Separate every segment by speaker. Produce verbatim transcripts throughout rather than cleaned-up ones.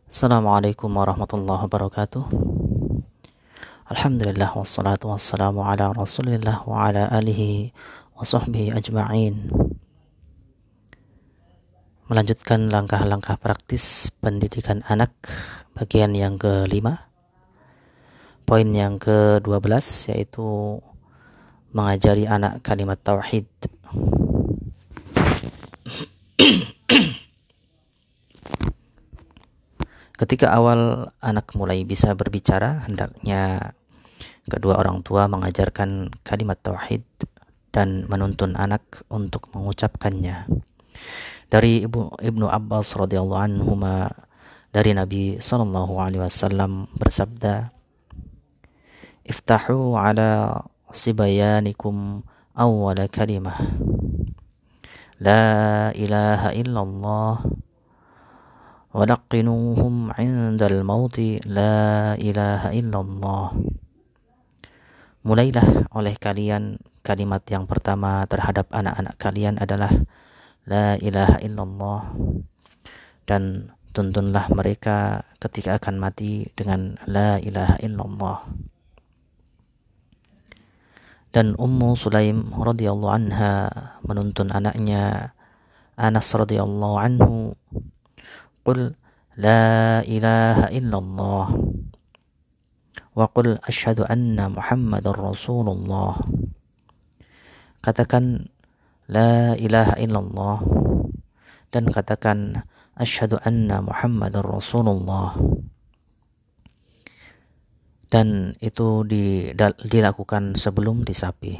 Speaker 1: Assalamualaikum warahmatullahi wabarakatuh. Alhamdulillah wassalatu wassalamu ala rasulillah wa ala alihi wa sahbihi ajma'in. Melanjutkan langkah-langkah praktis pendidikan anak, bagian yang kelima. Poin yang kedua belas, yaitu mengajari anak kalimat tauhid. Ketika awal anak mulai bisa berbicara, hendaknya kedua orang tua mengajarkan kalimat tauhid dan menuntun anak untuk mengucapkannya. Dari Ibu, Ibnu Abbas radhiyallahu anhuma, dari Nabi sallallahu alaihi wasallam bersabda, "Iftahu ala sibayanikum awwala kalimah, la ilaha illallah, walaqinuhum 'indal mauti la ilaha illallah." Mulailah oleh kalian kalimat yang pertama terhadap anak-anak kalian adalah la ilaha illallah, dan tuntunlah mereka ketika akan mati dengan la ilaha illallah. Dan Ummu Sulaim radhiyallahu anha menuntun anaknya Anas radhiyallahu anhu, "Qul la ilaha illallah wa qul asyhadu anna Muhammadar Rasulullah." Katakan la ilaha illallah dan katakan asyhadu anna Muhammadar Rasulullah. Dan itu dilakukan sebelum disapi.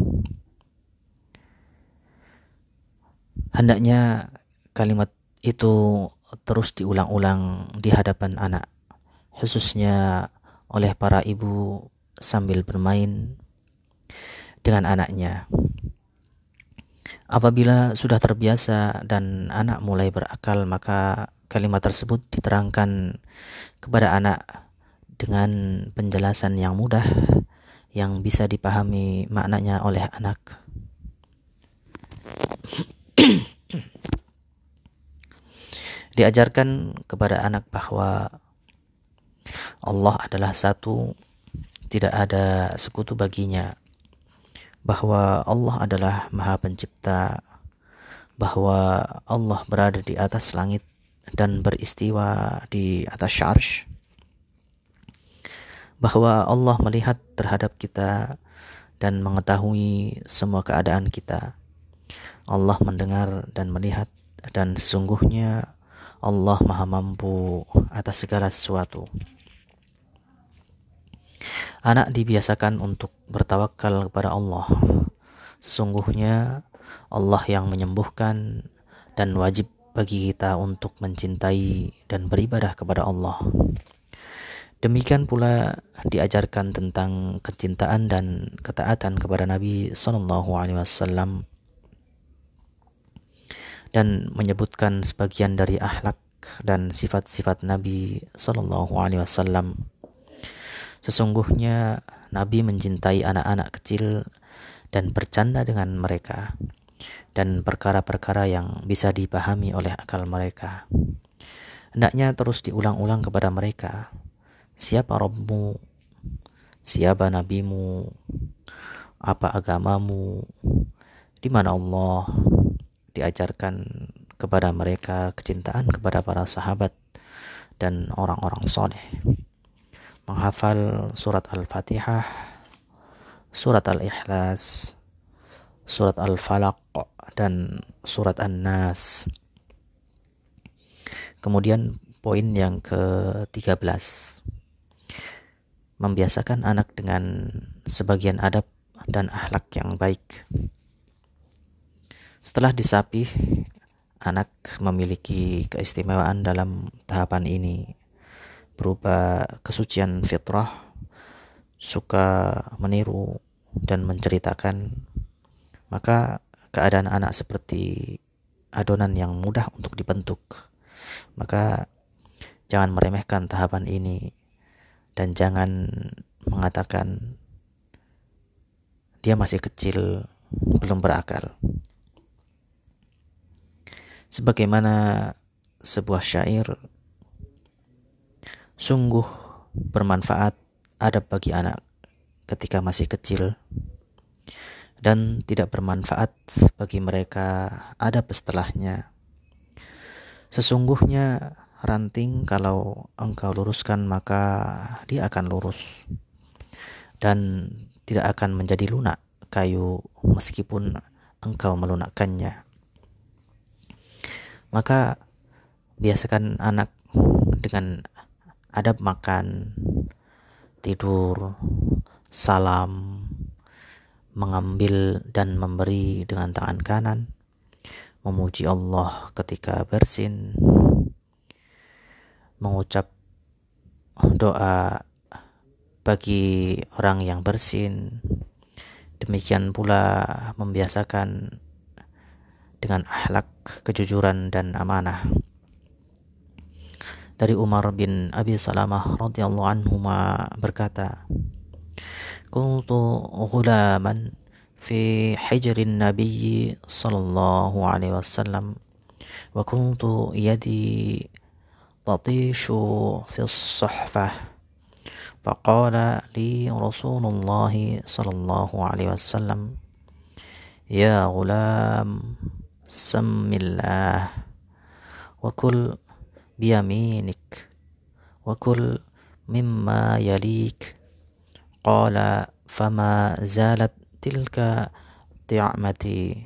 Speaker 1: Hendaknya kalimat itu terus diulang-ulang di hadapan anak, khususnya oleh para ibu sambil bermain dengan anaknya. Apabila sudah terbiasa dan anak mulai berakal, maka kalimat tersebut diterangkan kepada anak dengan penjelasan yang mudah yang bisa dipahami maknanya oleh anak. Diajarkan kepada anak bahwa Allah adalah satu, tidak ada sekutu baginya, bahwa Allah adalah Maha Pencipta, bahwa Allah berada di atas langit dan beristiwa di atas syarsh, bahwa Allah melihat terhadap kita dan mengetahui semua keadaan kita. Allah mendengar dan melihat, dan sesungguhnya Allah Maha Mampu atas segala sesuatu. Anak dibiasakan untuk bertawakal kepada Allah. Sesungguhnya Allah yang menyembuhkan, dan wajib bagi kita untuk mencintai dan beribadah kepada Allah. Demikian pula diajarkan tentang kecintaan dan ketaatan kepada Nabi sallallahu alaihi wasallam, dan menyebutkan sebagian dari akhlak dan sifat-sifat Nabi sallallahu alaihi wasallam. Sesungguhnya Nabi mencintai anak-anak kecil dan bercanda dengan mereka, dan perkara-perkara yang bisa dipahami oleh akal mereka. Hendaknya terus diulang-ulang kepada mereka, siapa Rabbmu, siapa nabimu, apa agamamu, di mana Allah. Diajarkan kepada mereka kecintaan kepada para sahabat dan orang-orang soleh. Menghafal surat Al-Fatihah, surat Al-Ikhlas, surat Al-Falaq, dan surat An-Nas. Kemudian poin yang ke-tiga belas, membiasakan anak dengan sebagian adab dan akhlak yang baik. Setelah disapih, anak memiliki keistimewaan dalam tahapan ini, berupa kesucian fitrah, suka meniru dan menceritakan. Maka keadaan anak seperti adonan yang mudah untuk dibentuk. Maka jangan meremehkan tahapan ini, dan jangan mengatakan dia masih kecil, belum berakal. Sebagaimana sebuah syair Sungguh bermanfaat adab bagi anak ketika masih kecil, dan tidak bermanfaat bagi mereka adab setelahnya. Sesungguhnya ranting kalau engkau luruskan maka dia akan lurus dan tidak akan menjadi lunak kayu meskipun engkau melunakkannya. Maka biasakan anak dengan adab makan, tidur, salam, mengambil dan memberi dengan tangan kanan, memuji Allah ketika bersin, mengucap doa bagi orang yang bersin. Demikian pula membiasakan dengan akhlak kejujuran dan amanah. Dari Umar bin Abi Salamah radhiyallahu anhu berkata, "Kuntu ghulaman fi hijrin Nabi sallallahu alaihi wasallam wa kuntu yadi tatishu fi as-suhfah faqala li Rasulullah sallallahu alaihi wasallam ya ghulam sammillah wa kul biyaminik wa kul mimma yalik qala fama zalat tilka ti'amati."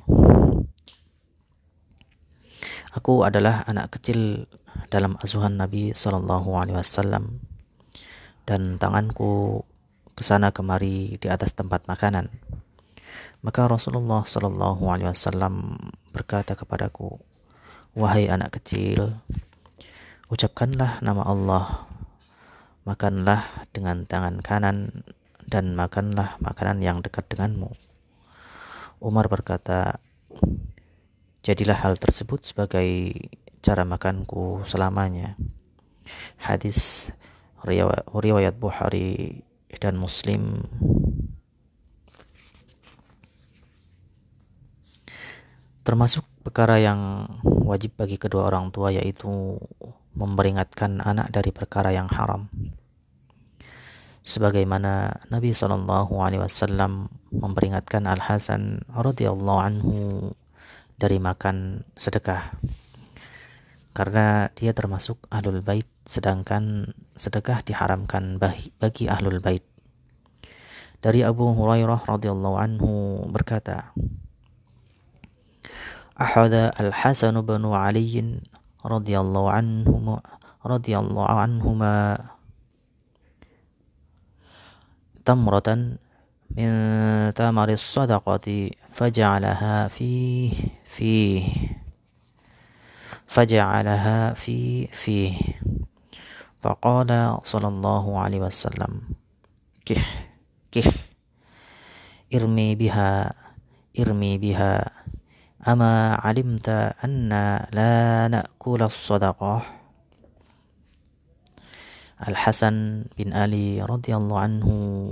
Speaker 1: Aku adalah anak kecil dalam asuhan Nabi sallallahu alaihi wasallam, dan tanganku kesana kemari di atas tempat makanan. Maka Rasulullah sallallahu alaihi wasallam berkata kepadaku, "Wahai anak kecil, ucapkanlah nama Allah, makanlah dengan tangan kanan, dan makanlah makanan yang dekat denganmu." Umar berkata, "Jadilah hal tersebut sebagai cara makanku selamanya." Hadis riwayat Bukhari dan Muslim. Termasuk perkara yang wajib bagi kedua orang tua yaitu memperingatkan anak dari perkara yang haram. Sebagaimana Nabi sallallahu alaihi wasallam memperingatkan Al-Hasan radhiyallahu anhu dari makan sedekah, karena dia termasuk ahlul bait, sedangkan sedekah diharamkan bagi ahlul bait. Dari Abu Hurairah radhiyallahu anhu berkata, "Ahada Al-Hasan bin Ali radhiyallahu anhu radhiyallahu anhuma tamratan min tamaris sadaqati faja'alaha fi fi faja'alaha fi fi faqala sallallahu alaihi wasallam kih kih irmi biha irmi biha ama alimta anna la na'kula as-sadaqah." Al-Hasan bin Ali radhiyallahu anhu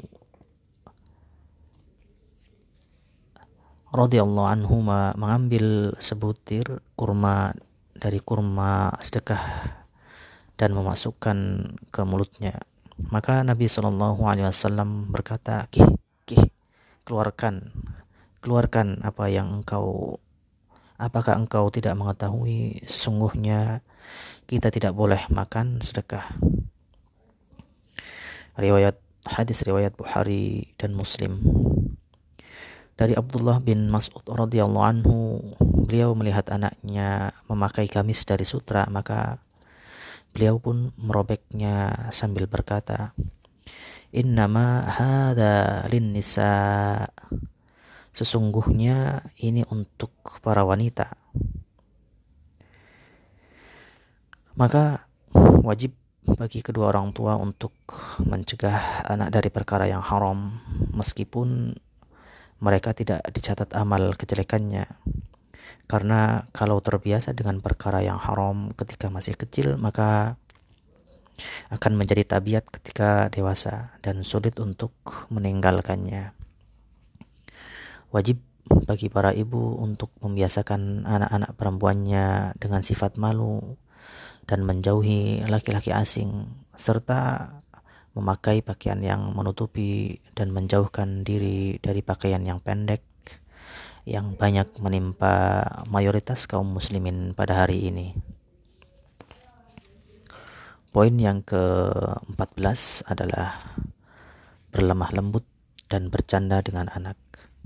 Speaker 1: radhiyallahu anhu mengambil sebutir kurma dari kurma sedekah dan memasukkan ke mulutnya. Maka Nabi sallallahu alaihi wasallam berkata, "Kih, kih, keluarkan, keluarkan apa yang engkau apakah engkau tidak mengetahui sesungguhnya kita tidak boleh makan sedekah." Riwayat hadis riwayat Bukhari dan Muslim. Dari Abdullah bin Mas'ud radhiyallahu anhu, beliau melihat anaknya memakai gamis dari sutra, maka beliau pun merobeknya sambil berkata, "Innama hadza lin-nisa." Sesungguhnya ini untuk para wanita. Maka wajib bagi kedua orang tua untuk mencegah anak dari perkara yang haram, meskipun mereka tidak dicatat amal kejelekannya. Karena kalau terbiasa dengan perkara yang haram ketika masih kecil, maka akan menjadi tabiat ketika dewasa dan sulit untuk meninggalkannya. Wajib bagi para ibu untuk membiasakan anak-anak perempuannya dengan sifat malu dan menjauhi laki-laki asing serta memakai pakaian yang menutupi dan menjauhkan diri dari pakaian yang pendek yang banyak menimpa mayoritas kaum muslimin pada hari ini. Poin yang keempat belas adalah berlemah lembut dan bercanda dengan anak.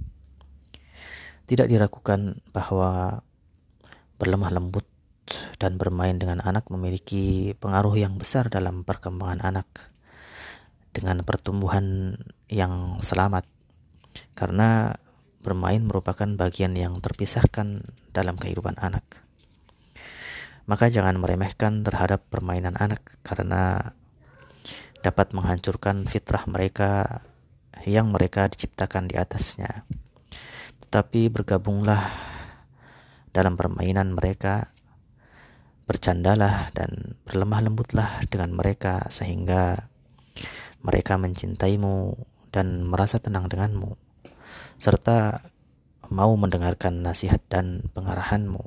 Speaker 1: Tidak diragukan bahwa berlemah lembut dan bermain dengan anak memiliki pengaruh yang besar dalam perkembangan anak dengan pertumbuhan yang selamat, karena bermain merupakan bagian yang terpisahkan dalam kehidupan anak. Maka jangan meremehkan terhadap permainan anak, karena dapat menghancurkan fitrah mereka yang mereka diciptakan di atasnya. Tetapi bergabunglah dalam permainan mereka, bercandalah dan berlemah lembutlah dengan mereka sehingga mereka mencintaimu dan merasa tenang denganmu, serta mau mendengarkan nasihat dan pengarahanmu.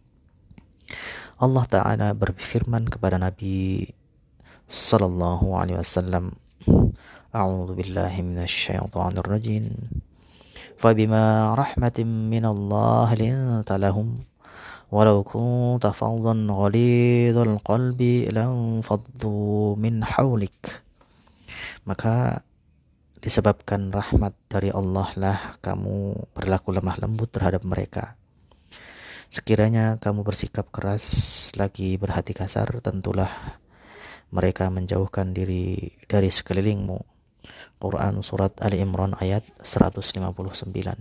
Speaker 1: Allah Ta'ala berfirman kepada Nabi Sallallahu Alaihi Wasallam, A'udzu billahi minasy syaithanir rajim. Fabima rahmatin minallah linta lahum walau kunta faddan ghalidhal qalbi lam faddu min hawlik. Maka disebabkan rahmat dari Allah lah kamu berlaku lemah lembut terhadap mereka. Sekiranya kamu bersikap keras lagi berhati kasar, tentulah mereka menjauhkan diri dari sekelilingmu. Quran Surat Ali Imran ayat seratus lima puluh sembilan.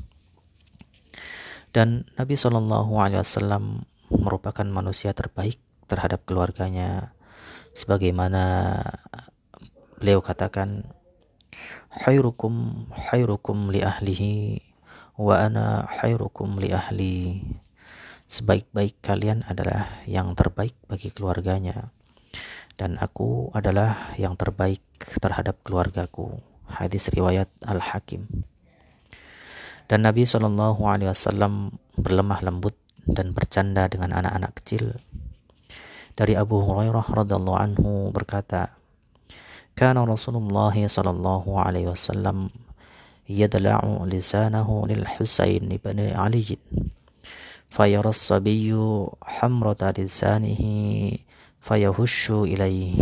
Speaker 1: Dan Nabi Shallallahu Alaihi Wasallam merupakan manusia terbaik terhadap keluarganya, sebagaimana beliau katakan, khairukum khairukum li ahlihi wa ana khairukum li ahli. Sebaik-baik kalian adalah yang terbaik bagi keluarganya, dan aku adalah yang terbaik terhadap keluargaku. Hadis riwayat Al-Hakim. Dan Nabi Shallallahu Alaihi Wasallam berlemah lembut dan bercanda dengan anak-anak kecil. Dari Abu Hurairah radhiallahu anhu berkata, Kana Rasulullah sallallahu alaihi wasallam yadla'u lisanahu lil Husain ibn Ali fayara as-sabiyyu hamrata lisanihi fayahushu ilaihi.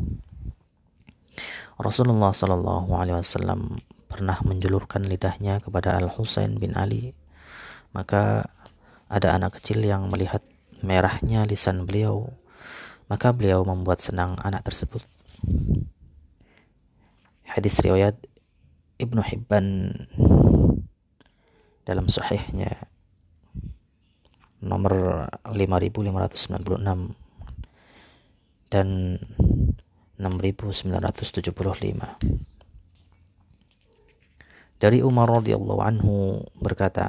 Speaker 1: Rasulullah sallallahu alaihi wasallam pernah menjulurkan lidahnya kepada Al-Husain bin Ali, maka ada anak kecil yang melihat merahnya lisan beliau, maka beliau membuat senang anak tersebut. Hadis riwayat Ibnu Hibban dalam sahihnya nomor lima ribu lima ratus sembilan puluh enam dan enam ribu sembilan ratus tujuh puluh lima. Dari Umar radhiyallahu anhu berkata,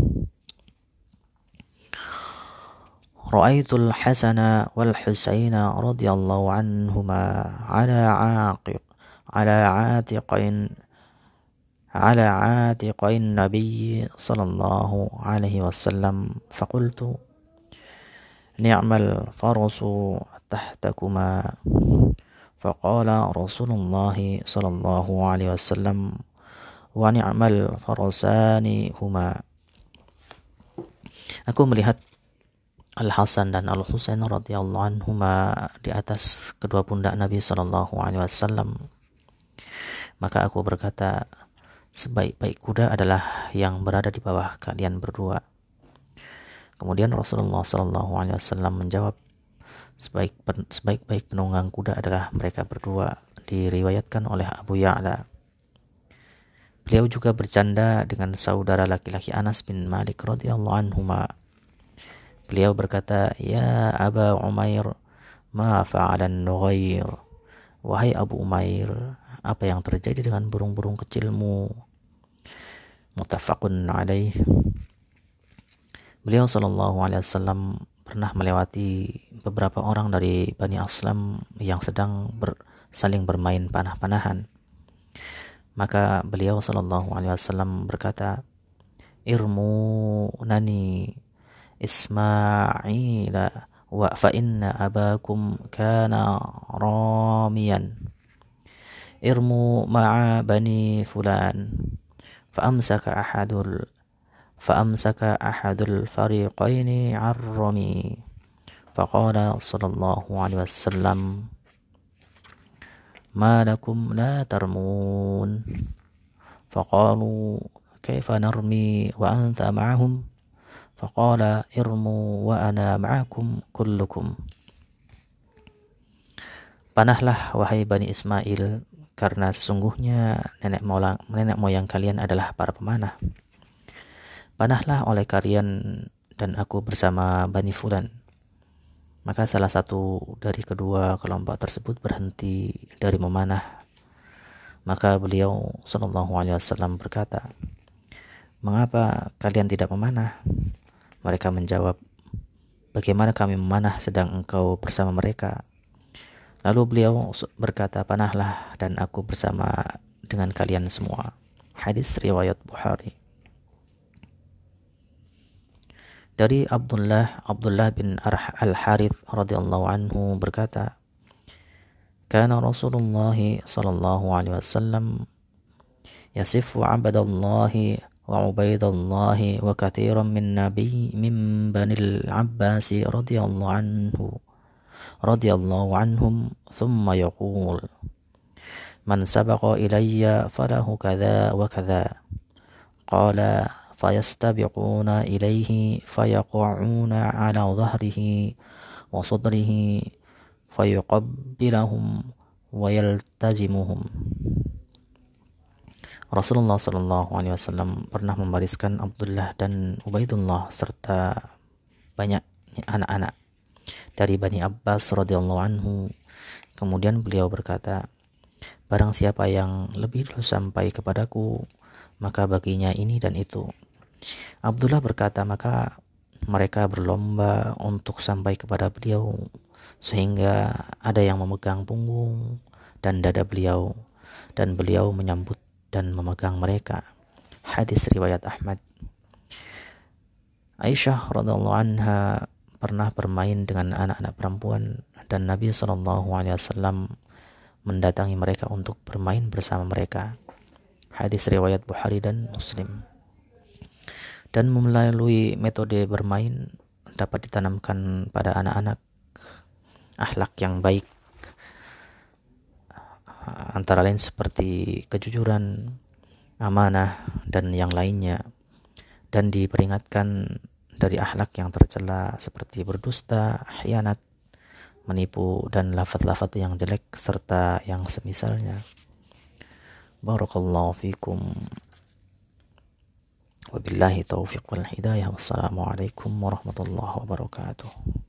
Speaker 1: Ra'aitul Hasana wal Husaina radhiyallahu anhuma ala 'aqiq ala 'atiqain ala 'atiqain Nabi sallallahu alaihi wasallam faqultu ni'mal farasu tahtakuma faqala Rasulullah sallallahu alaihi wasallam wa ni'mal farasani huma. Aku melihat Al-Hasan dan Al-Husain radhiyallahu anhuma di atas kedua pundak Nabi sallallahu alaihi wasallam. Maka aku berkata, sebaik-baik kuda adalah yang berada di bawah kalian berdua. Kemudian Rasulullah sallallahu alaihi wasallam menjawab, sebaik sebaik-baik penunggang kuda adalah mereka berdua. Diriwayatkan oleh Abu Ya'la. Beliau juga bercanda dengan saudara laki-laki Anas bin Malik radhiyallahu anhuma. Beliau berkata, Ya Aba Umair, ma fa'alan nughair. Wahai Abu Umair, apa yang terjadi dengan burung-burung kecilmu? Muttafaqun alaih. Beliau sallallahu alaihi wasallam pernah melewati beberapa orang dari Bani Aslam yang sedang ber, saling bermain panah-panahan. Maka beliau sallallahu alaihi wasallam berkata, Irmu nani Ismaila wa fa inna abakum kana راميا ارموا مع بني فلان فأمسك أحد ال... فأمسك أحد الفريقين عن رمي فقال صلى الله عليه وسلم ما لكم لا ترمون فقالوا كيف نرمي وأنت معهم فقال ارموا وأنا معكم كلكم. Panahlah wahai Bani Ismail, karena sesungguhnya nenek moyang, nenek moyang kalian adalah para pemanah. Panahlah oleh kalian dan aku bersama Bani Fulan. Maka salah satu dari kedua kelompok tersebut berhenti dari memanah. Maka beliau sallallahu alaihi wasallam berkata, mengapa kalian tidak memanah? Mereka menjawab, bagaimana kami memanah sedang engkau bersama mereka? Lalu beliau berkata, panahlah dan aku bersama dengan kalian semua. Hadis riwayat Bukhari. Dari Abdullah Abdullah bin Al-Harith radhiyallahu anhu berkata, kana Rasulullah sallallahu alaihi wasallam yasifu 'abdallahi wa 'ubaidallahi wa katsiran min nabi min Bani al-Abbas radhiyallahu anhu radhiyallahu anhum thumma yaqul man sabaqa ilayya falahu kadza wa kadza qala fayastabiquna ilayhi fayaqa'una ala dhahrihi wa sadrihi fayuqabbilahum wa yaltazimuhum. Rasulullah sallallahu alaihi wasallam pernah membariskan Abdullah dan Ubaidullah serta banyak anak-anak dari Bani Abbas radhiyallahu anhu. Kemudian beliau berkata, barang siapa yang lebih dulu sampai kepadaku, maka baginya ini dan itu. Abdullah berkata, maka mereka berlomba untuk sampai kepada beliau, sehingga ada yang memegang punggung dan dada beliau, dan beliau menyambut dan memegang mereka. Hadis riwayat Ahmad. Aisyah radhiyallahu anha pernah bermain dengan anak-anak perempuan dan Nabi sallallahu alaihi wasallam mendatangi mereka untuk bermain bersama mereka. Hadis riwayat Bukhari dan Muslim. Dan melalui metode bermain dapat ditanamkan pada anak-anak akhlak yang baik, antara lain seperti kejujuran, amanah, dan yang lainnya, dan diperingatkan dari akhlak yang tercela seperti berdusta, khianat, menipu, dan lafaz-lafaz yang jelek serta yang semisalnya. Barakallahu fikum. Wabillahi taufiq wal hidayah. Wassalamualaikum warahmatullahi wabarakatuh.